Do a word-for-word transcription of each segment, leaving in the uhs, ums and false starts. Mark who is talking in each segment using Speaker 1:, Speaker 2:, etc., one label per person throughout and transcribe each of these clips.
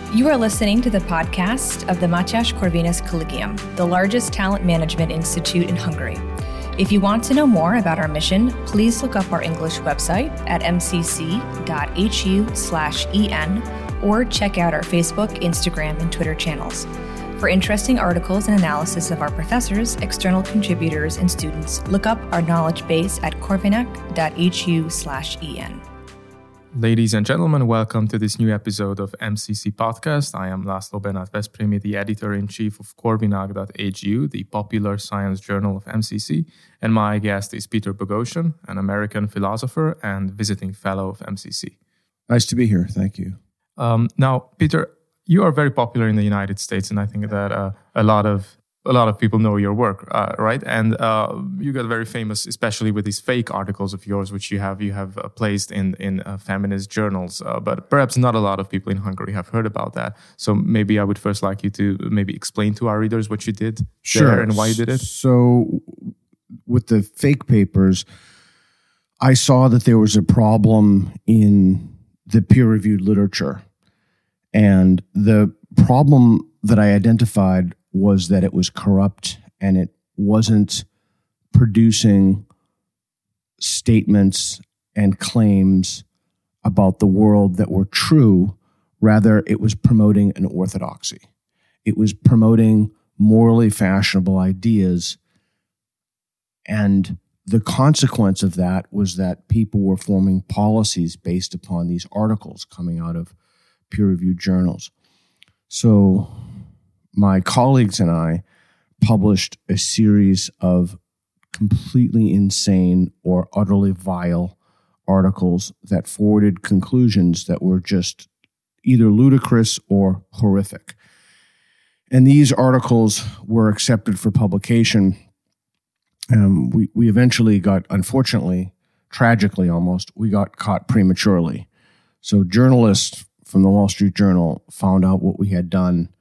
Speaker 1: You are listening to the podcast of the Mátyás Corvinus Collegium, the largest talent management institute in Hungary. If you want to know more about our mission, please look up our English website at m c c dot h u slash e n or check out our Facebook, Instagram, and Twitter channels. For interesting articles and analysis of our professors, external contributors, and students, look up our knowledge base at corvinac dot h u slash e n.
Speaker 2: Ladies and gentlemen, welcome to this new episode of M C C Podcast. I am László Bernát Veszprémi, the editor-in-chief of corvinac dot h u, the popular science journal of M C C, and my guest is Peter Boghossian, an American philosopher and visiting fellow of M C C.
Speaker 3: Nice to be here. Thank you.
Speaker 2: Um, now, Peter, you are very popular in the United States, and I think that uh, a lot of a lot of people know your work, uh, right? And uh, you got very famous, especially with these fake articles of yours, which you have you have uh, placed in in uh, feminist journals. Uh, but perhaps not a lot of people in Hungary have heard about that. So maybe I would first like you to maybe explain to our readers what you did
Speaker 3: sure.
Speaker 2: there and why you did it.
Speaker 3: So with the fake papers, I saw that there was a problem in the peer-reviewed literature. And the problem that I identified was that it was corrupt and it wasn't producing statements and claims about the world that were true. Rather, it was promoting an orthodoxy. It was promoting morally fashionable ideas. And the consequence of that was that people were forming policies based upon these articles coming out of peer-reviewed journals. So my colleagues and I published a series of completely insane or utterly vile articles that forwarded conclusions that were just either ludicrous or horrific. And these articles were accepted for publication. Um, we, we eventually got, unfortunately, tragically almost, we got caught prematurely. So journalists from the Wall Street Journal found out what we had done.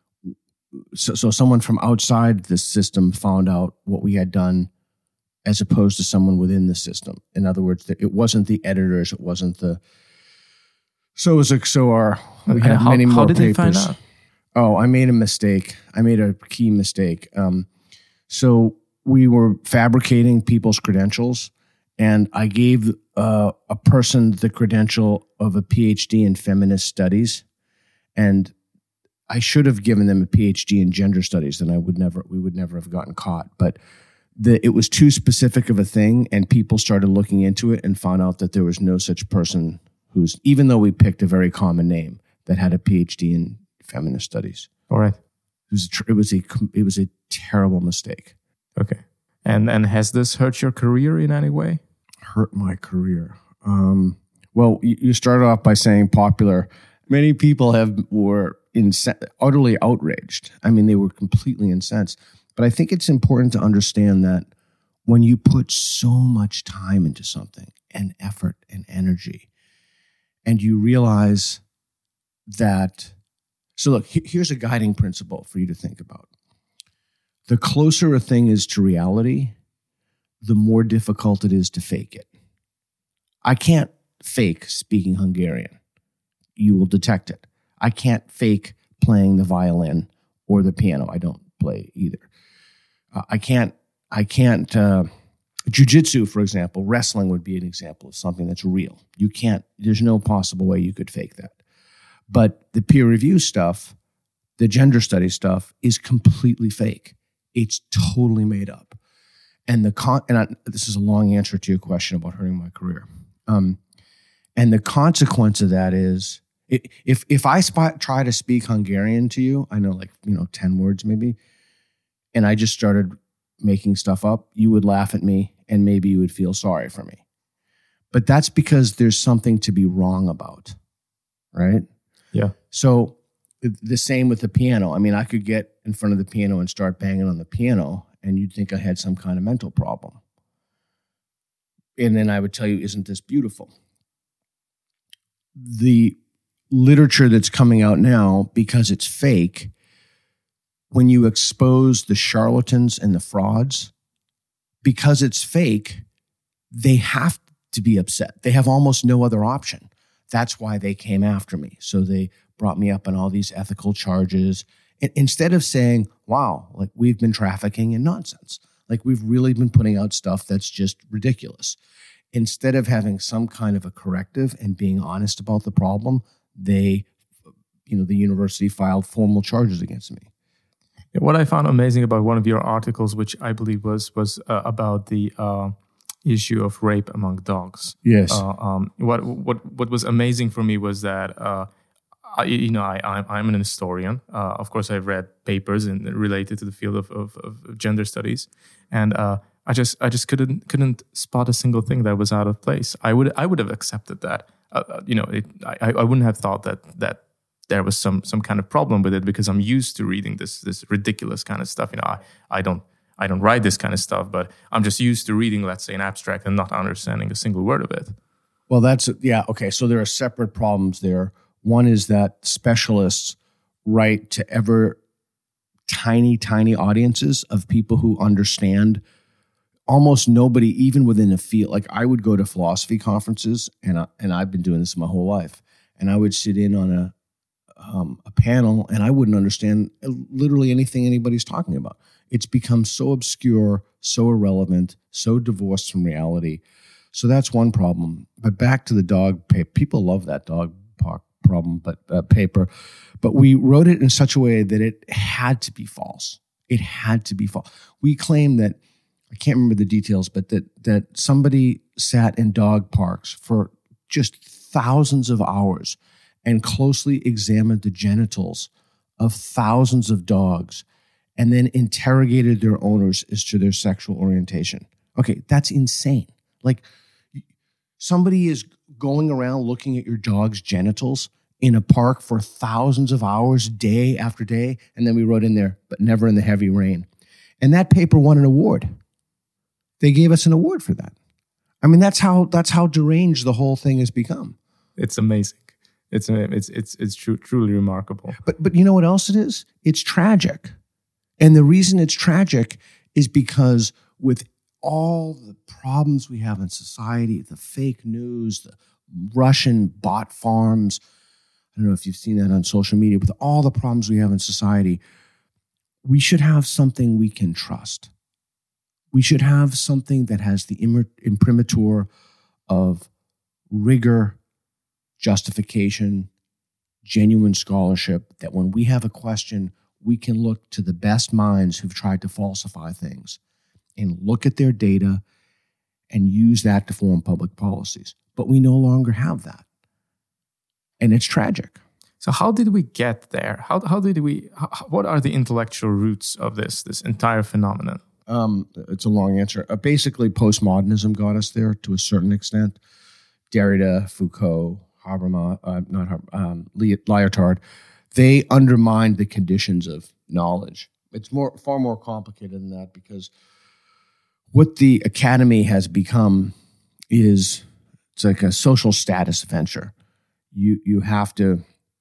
Speaker 3: So, so someone from outside the system found out what we had done as opposed to someone within the system. In other words, it wasn't the editors, it wasn't the... So it was like, so our... We had
Speaker 2: how,
Speaker 3: many more
Speaker 2: how did
Speaker 3: papers.
Speaker 2: they find out?
Speaker 3: Oh, I made a mistake. I made a key mistake. Um, so we were fabricating people's credentials, and I gave uh, a person the credential of a P H D in feminist studies, and I should have given them a P H D in gender studies. Then I would never, we would never have gotten caught. But the, it was too specific of a thing, and people started looking into it and found out that there was no such person who's, even though we picked a very common name, that had a P H D in feminist studies.
Speaker 2: All right.
Speaker 3: It was a, it was a, it was a terrible mistake.
Speaker 2: Okay. And and has this hurt your career in any way?
Speaker 3: Hurt my career. Um, well, you, you started off by saying popular. Many people have were inc- utterly outraged. I mean, they were completely incensed. But I think it's important to understand that when you put so much time into something and effort and energy, and you realize that, so look, here's a guiding principle for you to think about. The closer a thing is to reality, the more difficult it is to fake it. I can't fake speaking Hungarian. You will detect it. I can't fake playing the violin or the piano. I don't play either. Uh, I can't, I can't, uh, jiu-jitsu, for example, wrestling would be an example of something that's real. You can't, there's no possible way you could fake that. But the peer review stuff, the gender study stuff is completely fake. It's totally made up. And the con, and I, this is a long answer to your question about hurting my career. Um, and the consequence of that is, if if I spot, try to speak Hungarian to you, I know like, you know, ten words maybe, and I just started making stuff up, you would laugh at me and maybe you would feel sorry for me. But that's because there's something to be wrong about, right?
Speaker 2: Yeah.
Speaker 3: So the same with the piano. I mean, I could get in front of the piano and start banging on the piano, and you'd think I had some kind of mental problem. And then I would tell you, isn't this beautiful? The literature that's coming out now, because it's fake, when you expose the charlatans and the frauds, because it's fake, they have to be upset. They have almost no other option. That's why they came after me. So they brought me up on all these ethical charges. And instead of saying, wow, like we've been trafficking in nonsense, like we've really been putting out stuff that's just ridiculous. Instead of having some kind of a corrective and being honest about the problem, they, you know, the university filed formal charges against me.
Speaker 2: What I found amazing about one of your articles, which I believe was was uh, about the uh, issue of rape among dogs.
Speaker 3: Yes.
Speaker 2: Uh, um, what what what was amazing for me was that uh, I, you know I I'm, I'm an historian. Uh, of course, I've read papers in, related to the field of, of, of gender studies, and uh, I just I just couldn't couldn't spot a single thing that was out of place. I would I would have accepted that. Uh, you know, it, I I wouldn't have thought that that. there was some some kind of problem with it because I'm used to reading this this ridiculous kind of stuff. You know, I, I don't I don't write this kind of stuff, but I'm just used to reading, let's say, an abstract and not understanding a single word of it.
Speaker 3: Well, that's yeah, okay. So there are separate problems there. One is that specialists write to ever tiny, tiny audiences of people who understand almost nobody, even within a field. Like I would go to philosophy conferences, and I, and I've been doing this my whole life, and I would sit in on a Um, a panel, and I wouldn't understand literally anything anybody's talking about. It's become so obscure, so irrelevant, so divorced from reality. So that's one problem. But back to the dog paper. People love that dog problem, but uh, paper. But we wrote it in such a way that it had to be false. It had to be false. We claim that, I can't remember the details, but that that somebody sat in dog parks for just thousands of hours and closely examined the genitals of thousands of dogs and then interrogated their owners as to their sexual orientation. Okay, that's insane. Like somebody is going around looking at your dog's genitals in a park for thousands of hours, day after day, and then we wrote in there, but never in the heavy rain. And that paper won an award. They gave us an award for that. I mean, that's how that's how deranged the whole thing has become.
Speaker 2: It's amazing. It's it's it's it's true, truly remarkable.
Speaker 3: But but you know what else it is? It's tragic. And the reason it's tragic is because with all the problems we have in society, the fake news, the Russian bot farms, I don't know if you've seen that on social media, with all the problems we have in society, we should have something we can trust. We should have something that has the imprimatur of rigor, justification, genuine scholarship, that when we have a question, we can look to the best minds who've tried to falsify things and look at their data and use that to form public policies. But we no longer have that. And it's tragic.
Speaker 2: So how did we get there? How how did we, how, what are the intellectual roots of this, this entire phenomenon?
Speaker 3: Um, it's a long answer. Uh, basically, postmodernism got us there to a certain extent. Derrida, Foucault, Habermas, uh, not Haber, um, Lyotard, they undermined the conditions of knowledge. It's more, far more complicated than that, because what the academy has become is it's like a social status venture. You you have to.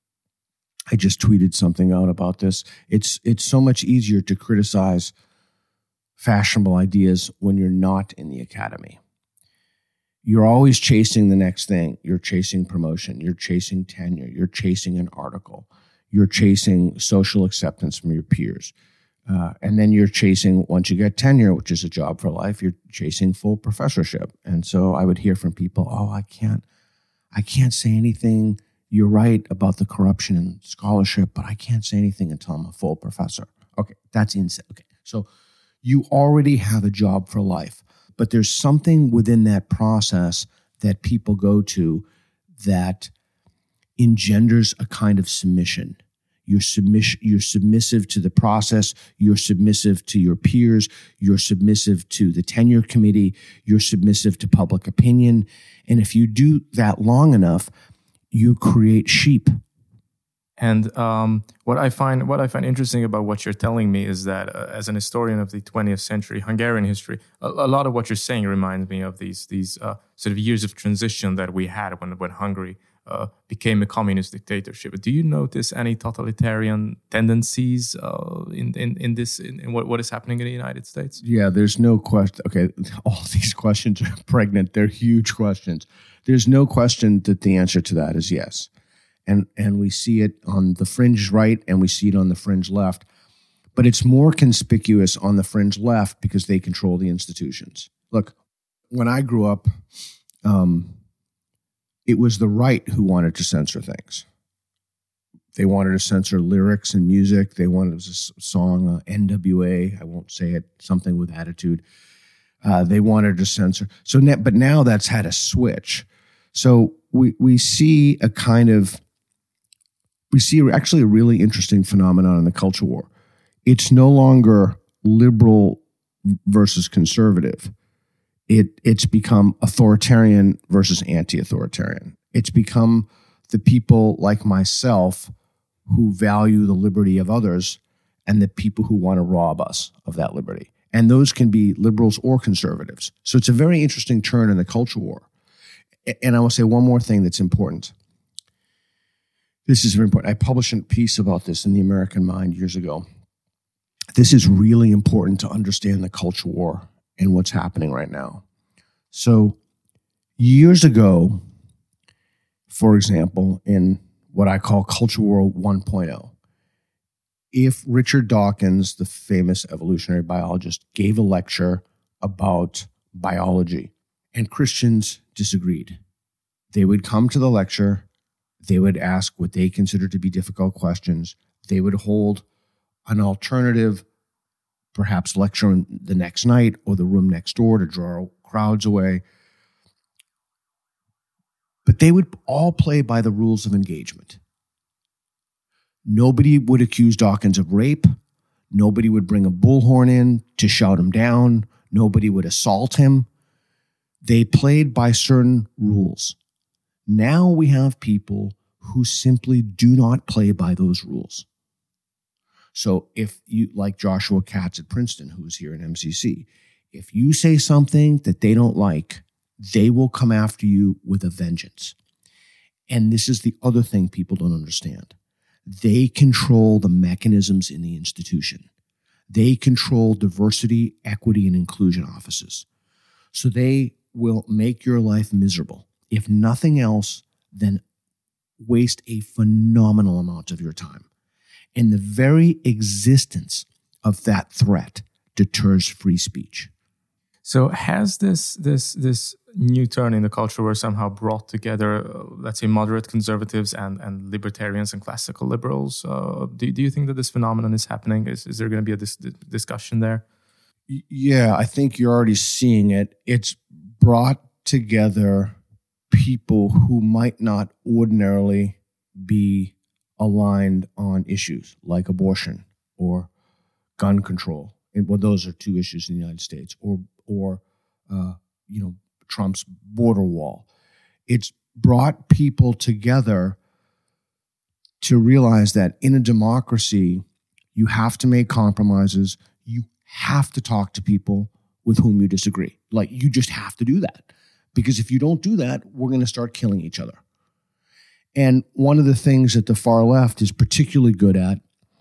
Speaker 3: I just tweeted something out about this. It's it's so much easier to criticize fashionable ideas when you're not in the academy. You're always chasing the next thing. You're chasing promotion. You're chasing tenure. You're chasing an article. You're chasing social acceptance from your peers. Uh, and then you're chasing, once you get tenure, which is a job for life, you're chasing full professorship. And so I would hear from people, oh, I can't, I can't say anything. You're right about the corruption in scholarship, but I can't say anything until I'm a full professor. Okay, that's insane. Okay, so you already have a job for life. But there's something within that process that people go to that engenders a kind of submission. You're, submiss- you're submissive to the process. You're submissive to your peers. You're submissive to the tenure committee. You're submissive to public opinion. And if you do that long enough, you create sheep.
Speaker 2: And um, what I find what I find interesting about what you're telling me is that uh, as an historian of the twentieth century Hungarian history, a, a lot of what you're saying reminds me of these these uh, sort of years of transition that we had when when Hungary uh, became a communist dictatorship. Do you notice any totalitarian tendencies uh, in, in in this in, in what, what is happening in the United States?
Speaker 3: Yeah, there's no question. Okay, all these questions are pregnant. They're huge questions. There's no question that the answer to that is yes. and, and we see it on the fringe right and we see it on the fringe left. But it's more conspicuous on the fringe left because they control the institutions. Look, when I grew up, um, it was the right who wanted to censor things. They wanted to censor lyrics and music. They wanted a song, uh, N W A, I won't say it, something with attitude. Uh, they wanted to censor. So, but now that's had a switch. So we we see a kind of, we see actually a really interesting phenomenon in the culture war. It's no longer liberal versus conservative. It it's become authoritarian versus anti-authoritarian. It's become the people like myself who value the liberty of others and the people who want to rob us of that liberty. And those can be liberals or conservatives. So it's a very interesting turn in the culture war. And I will say one more thing that's important. This is very important. I published a piece about this in the American Mind years ago. This is really important to understand the culture war and what's happening right now. So years ago, for example, in what I call Culture War one point oh, if Richard Dawkins, the famous evolutionary biologist, gave a lecture about biology and Christians disagreed, they would come to the lecture, they would ask what they considered to be difficult questions, they would hold an alternative, perhaps lecture the next night or the room next door to draw crowds away. But they would all play by the rules of engagement. Nobody would accuse Dawkins of rape. Nobody would bring a bullhorn in to shout him down. Nobody would assault him. They played by certain rules. Now we have people who simply do not play by those rules. So if you, like Joshua Katz at Princeton, who's here in M C C, if you say something that they don't like, they will come after you with a vengeance. And this is the other thing people don't understand. They control the mechanisms in the institution. They control diversity, equity, and inclusion offices. So they will make your life miserable. If nothing else, then waste a phenomenal amount of your time. And the very existence of that threat deters free speech.
Speaker 2: So has this this this new turn in the culture war somehow brought together, uh, let's say, moderate conservatives and, and libertarians and classical liberals? Uh, do, do you think that this phenomenon is happening? Is, is there going to be a dis- discussion there?
Speaker 3: Yeah, I think you're already seeing it. It's brought together people who might not ordinarily be aligned on issues like abortion or gun control. And, well, those are two issues in the United States, or or uh, you know, Trump's border wall. It's brought people together to realize that in a democracy, you have to make compromises. You have to talk to people with whom you disagree. Like, you just have to do that. Because if you don't do that, we're going to start killing each other. And one of the things that the far left is particularly good at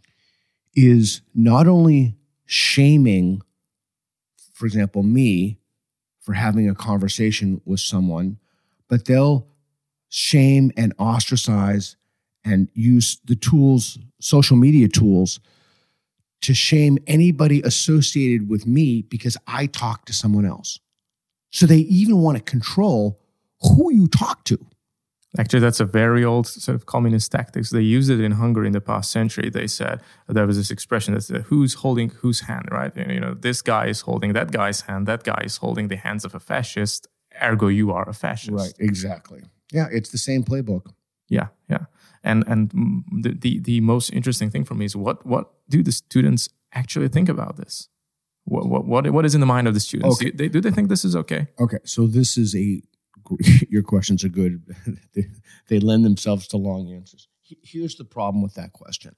Speaker 3: is not only shaming, for example, me for having a conversation with someone, but they'll shame and ostracize and use the tools, social media tools, to shame anybody associated with me because I talk to someone else. So they even want to control who you talk to.
Speaker 2: Actually, that's a very old sort of communist tactics. They used it in Hungary in the past century. They said there was this expression that said, who's holding whose hand, right? And, you know, this guy is holding that guy's hand. That guy is holding the hands of a fascist. Ergo, you are a fascist.
Speaker 3: Right, exactly. Yeah, it's the same playbook.
Speaker 2: Yeah, yeah. And and the, the, the most interesting thing for me is what what do the students actually think about this? What what what, what is in the mind of the students?
Speaker 3: Okay.
Speaker 2: Do, they, do they think this is okay?
Speaker 3: Okay, so this is a... Your questions are good. they, they lend themselves to long answers. Here's the problem with that question.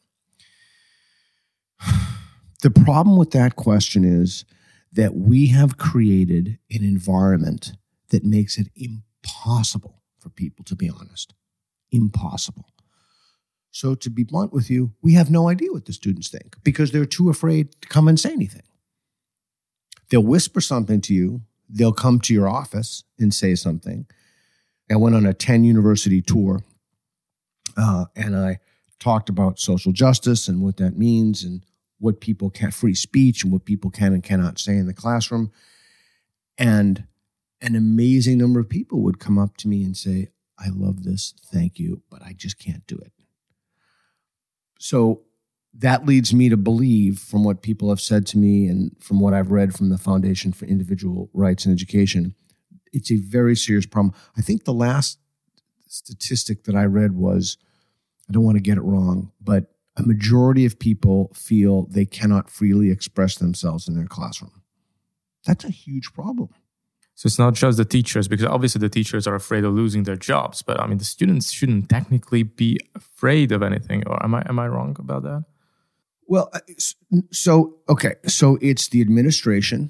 Speaker 3: The problem with that question is that we have created an environment that makes it impossible for people to be honest. Impossible. So to be blunt with you, we have no idea what the students think because they're too afraid to come and say anything. They'll whisper something to you. They'll come to your office and say something. I went on a ten university tour Uh, and I talked about social justice and what that means and what people can, free speech and what people can and cannot say in the classroom. And an amazing number of people would come up to me and say, I love this, thank you, but I just can't do it. So that leads me to believe, from what people have said to me and from what I've read from the Foundation for Individual Rights and Education, it's a very serious problem. I think the last statistic that I read was, I don't want to get it wrong, but a majority of people feel they cannot freely express themselves in their classroom. That's a huge problem.
Speaker 2: So it's not just the teachers, because obviously the teachers are afraid of losing their jobs, but I mean, the students shouldn't technically be afraid of anything, or am I am I wrong about that?
Speaker 3: Well, so, okay, so it's the administration,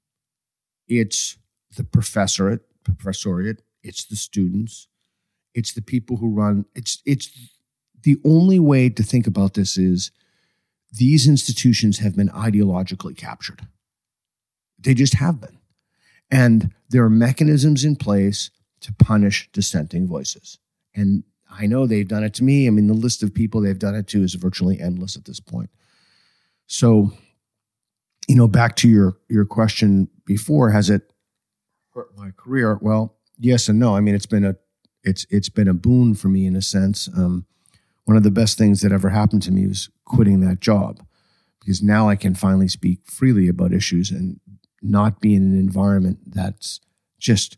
Speaker 3: it's the professorate, professoriate, it's the students, it's the people who run, it's it's the only way to think about this is these institutions have been ideologically captured. They just have been. And there are mechanisms in place to punish dissenting voices. And I know they've done it to me. I mean, the list of people they've done it to is virtually endless at this point. So, you know, back to your, your question before, has it hurt my career? Well, yes and no. I mean, it's been a it's it's been a boon for me in a sense. Um, one of the best things that ever happened to me was quitting that job, because now I can finally speak freely about issues and not be in an environment that's just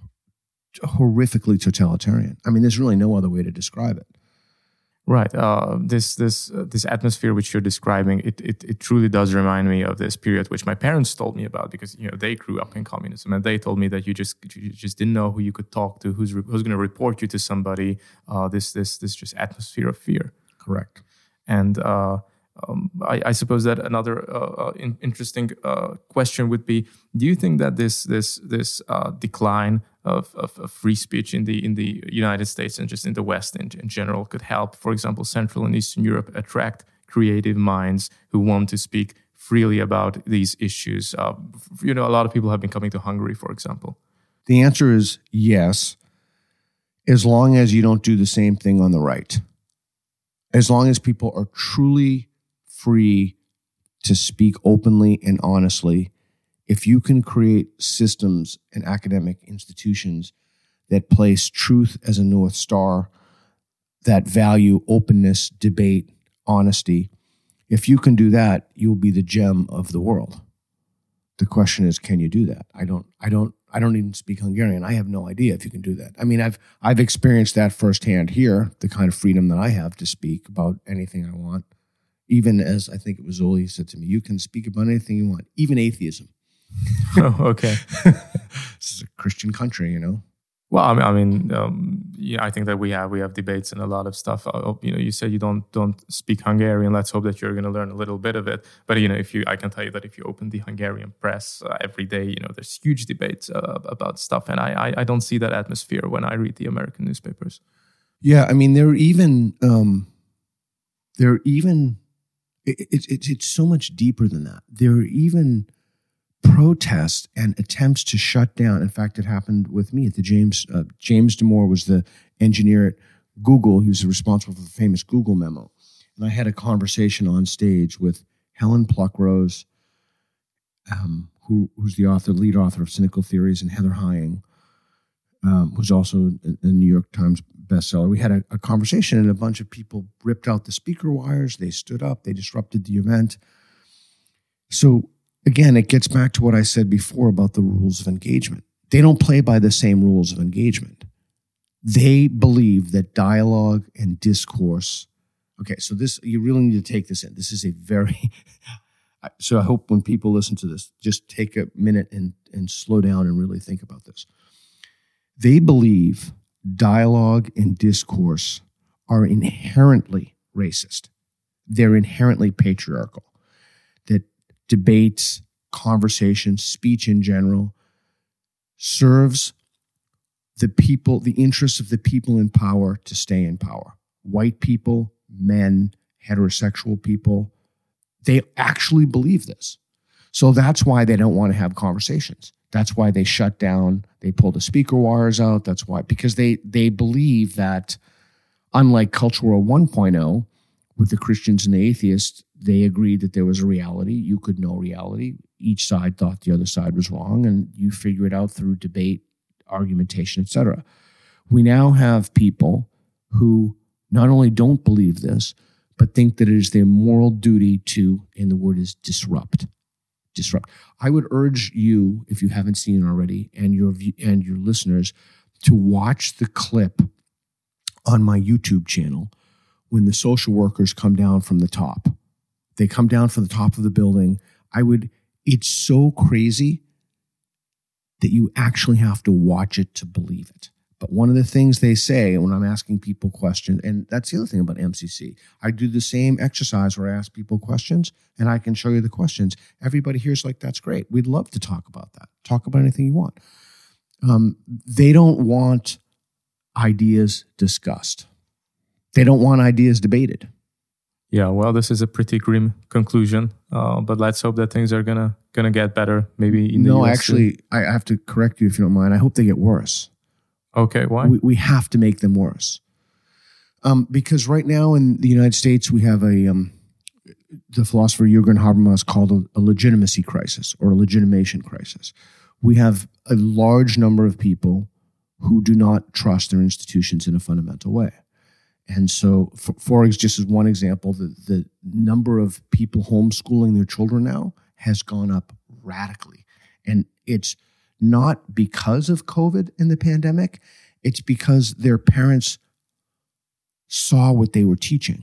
Speaker 3: horrifically totalitarian. I mean, there's really no other way to describe it.
Speaker 2: Right. Uh, this this uh, this atmosphere which you're describing, it, it it truly does remind me of this period which my parents told me about, because you know they grew up in communism, and they told me that you just you just didn't know who you could talk to, who's re- who's going to report you to somebody. Uh, this this this just atmosphere of fear.
Speaker 3: Correct.
Speaker 2: And uh, um, I, I suppose that another uh, in, interesting uh, question would be: do you think that this this this uh, decline Of, of, of free speech in the in the United States and just in the West in, in general could help, for example, Central and Eastern Europe attract creative minds who want to speak freely about these issues? Uh, you know, a lot of people have been coming to Hungary, for example.
Speaker 3: The answer is yes, as long as you don't do the same thing on the right. As long as people are truly free to speak openly and honestly, if you can create systems and academic institutions that place truth as a North Star, that value openness, debate, honesty, if you can do that, you'll be the gem of the world. The question is, can you do that? I don't, I don't, I don't even speak Hungarian. I have no idea if you can do that. I mean, I've, I've experienced that firsthand here, the kind of freedom that I have to speak about anything I want. Even as I think it was Zoli said to me, you can speak about anything you want, even atheism.
Speaker 2: Oh, okay.
Speaker 3: This is a Christian country, you know.
Speaker 2: Well, I mean, I mean, um, yeah, I think that we have we have debates and a lot of stuff. Uh, you know, you said you don't don't speak Hungarian. Let's hope that you're going to learn a little bit of it. But you know, if you, I can tell you that if you open the Hungarian press uh, every day, you know, there's huge debates uh, about stuff, and I, I I don't see that atmosphere when I read the American newspapers.
Speaker 3: Yeah, I mean, they're even um, they're even it's it, it, it's so much deeper than that. They're even protests and attempts to shut down. In fact, it happened with me at the James, uh, James Damore was the engineer at Google. He was responsible for the famous Google memo. And I had a conversation on stage with Helen Pluckrose, um, who, who's the author, lead author of Cynical Theories, and Heather Heying, um, who's also a, a New York Times bestseller. We had a, a conversation, and a bunch of people ripped out the speaker wires. They stood up. They disrupted the event. So, again, it gets back to what I said before about the rules of engagement. They don't play by the same rules of engagement. They believe that dialogue and discourse. Okay, so this, you really need to take this in. This is a very, so I hope when people listen to this, just take a minute and, and slow down and really think about this. They believe dialogue and discourse are inherently racist. They're inherently patriarchal. That debates, conversations, speech in general serves the people, the interests of the people in power to stay in power. White people, men, heterosexual people, they actually believe this. So that's why they don't want to have conversations. That's why they shut down, they pull the speaker wires out. That's why, because they they believe that Unlike Culture War one point oh, with the Christians and the atheists, they agreed that there was a reality. You could know reality. Each side thought the other side was wrong, and you figure it out through debate, argumentation, et cetera. We now have people who not only don't believe this, but think that it is their moral duty to, and the word is disrupt. Disrupt. I would urge you, if you haven't seen it already, and your and your listeners, to watch the clip on my YouTube channel when the social workers come down from the top. They come down from the top of the building. I would, it's so crazy that you actually have to watch it to believe it. But one of the things they say when I'm asking people questions, and that's the other thing about M C C, I do the same exercise where I ask people questions and I can show you the questions. Everybody here's like, that's great. We'd love to talk about that. Talk about anything you want. Um, they don't want ideas discussed. They don't want ideas debated.
Speaker 2: Yeah, well, this is a pretty grim conclusion, uh, but let's hope that things are gonna gonna get better. Maybe in the
Speaker 3: no,
Speaker 2: U S
Speaker 3: actually, I have to correct you if you don't mind. I hope they get worse.
Speaker 2: Okay, why?
Speaker 3: We, we have to make them worse. Um, because right now in the United States, we have a, um, the philosopher Jürgen Habermas called a, a legitimacy crisis or a legitimation crisis. We have a large number of people who do not trust their institutions in a fundamental way. And so, for, for just as one example, the, the number of people homeschooling their children now has gone up radically. And it's not because of COVID and the pandemic, it's because their parents saw what they were teaching.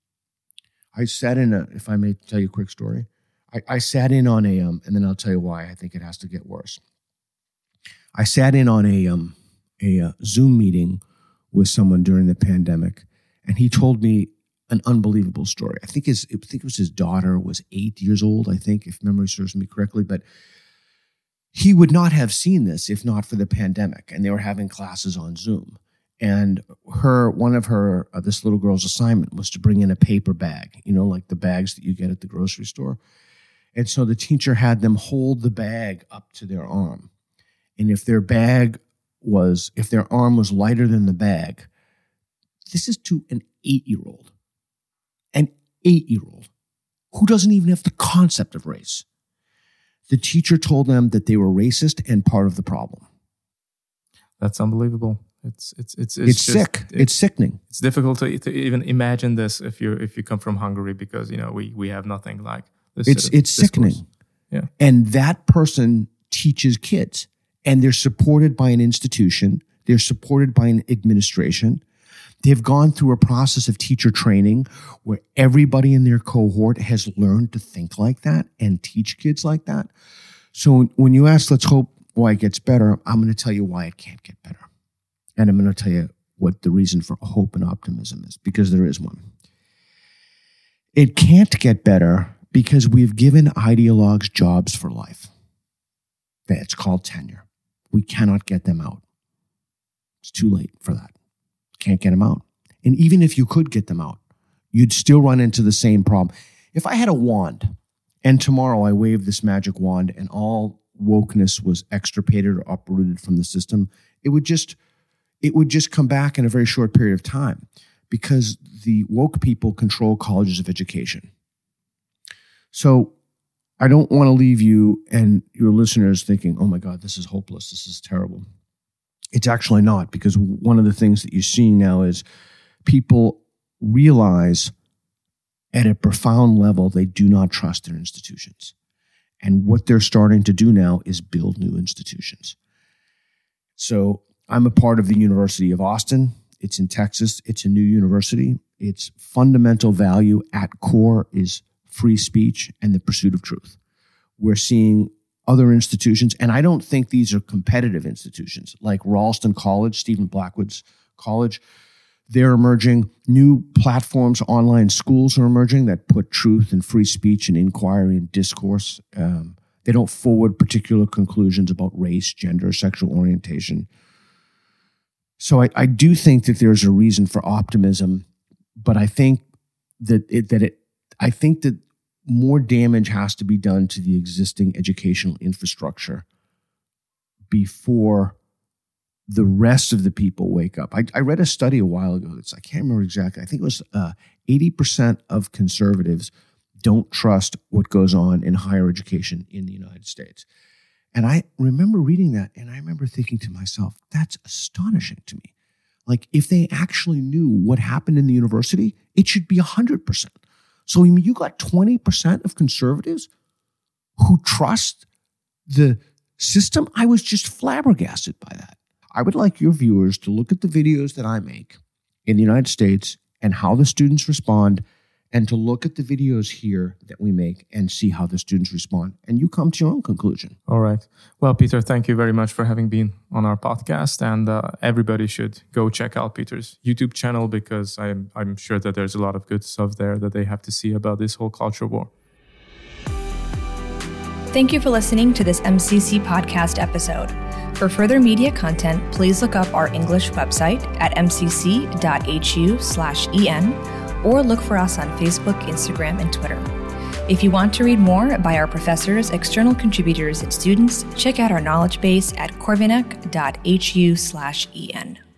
Speaker 3: I sat in a, if I may tell you a quick story, I, I sat in on a, um, and then I'll tell you why I think it has to get worse. I sat in on a, um, a uh, Zoom meeting with someone during the pandemic, and he told me an unbelievable story. I think his, I think it was his daughter was eight years old, I think, if memory serves me correctly, but he would not have seen this if not for the pandemic, and they were having classes on Zoom. And her, one of her, uh, this little girl's assignment was to bring in a paper bag, you know, like the bags that you get at the grocery store. And so the teacher had them hold the bag up to their arm. And if their bag was, if their arm was lighter than the bag, this is to an eight-year-old, an eight-year-old who doesn't even have the concept of race. The teacher told them that they were racist and part of the problem.
Speaker 2: That's unbelievable. It's it's it's
Speaker 3: it's,
Speaker 2: it's just,
Speaker 3: sick. It's, it's sickening.
Speaker 2: It's difficult to, to even imagine this if you if you come from Hungary, because you know we we have nothing like this.
Speaker 3: It's
Speaker 2: sort of
Speaker 3: it's sickening.
Speaker 2: Yeah,
Speaker 3: and that person teaches kids, and they're supported by an institution. They're supported by an administration. They've gone through a process of teacher training where everybody in their cohort has learned to think like that and teach kids like that. So when you ask, let's hope why it gets better, I'm going to tell you why it can't get better. And I'm going to tell you what the reason for hope and optimism is, because there is one. It can't get better because we've given ideologues jobs for life. It's called tenure. We cannot get them out. It's too late for that. Can't get them out. And even if you could get them out, you'd still run into the same problem. If I had a wand and tomorrow I waved this magic wand and all wokeness was extirpated or uprooted from the system, it would just it would just come back in a very short period of time, because the woke people control colleges of education. So I don't want to leave you and your listeners thinking, oh my God, this is hopeless. This is terrible. It's actually not, because one of the things that you're seeing now is people realize at a profound level they do not trust their institutions. And what they're starting to do now is build new institutions. So I'm a part of the University of Austin. It's in Texas. It's a new university. Its fundamental value at core is free speech and the pursuit of truth. We're seeing other institutions, and I don't think these are competitive institutions, like Ralston College, Stephen Blackwood's college. They're emerging. New platforms, online schools are emerging that put truth and free speech and inquiry and discourse. Um, they don't forward particular conclusions about race, gender, sexual orientation. So I, I do think that there's a reason for optimism, but I think that it, that it, I think that more damage has to be done to the existing educational infrastructure before the rest of the people wake up. I, I read a study a while ago that's, I can't remember exactly. I think it was uh, eighty percent of conservatives don't trust what goes on in higher education in the United States. And I remember reading that, and I remember thinking to myself, that's astonishing to me. Like, if they actually knew what happened in the university, it should be one hundred percent. So I mean, you got twenty percent of conservatives who trust the system. I was just flabbergasted by that. I would like your viewers to look at the videos that I make in the United States and how the students respond, and to look at the videos here that we make and see how the students respond. And you come to your own conclusion.
Speaker 2: All right. Well, Peter, thank you very much for having been on our podcast. And uh, everybody should go check out Peter's YouTube channel, because I'm, I'm sure that there's a lot of good stuff there that they have to see about this whole culture war.
Speaker 1: Thank you for listening to this M C C podcast episode. For further media content, please look up our English website at m c c dot h u slash e n or look for us on Facebook, Instagram, and Twitter. If you want to read more by our professors, external contributors, and students, check out our knowledge base at corvinec dot h u slash e n.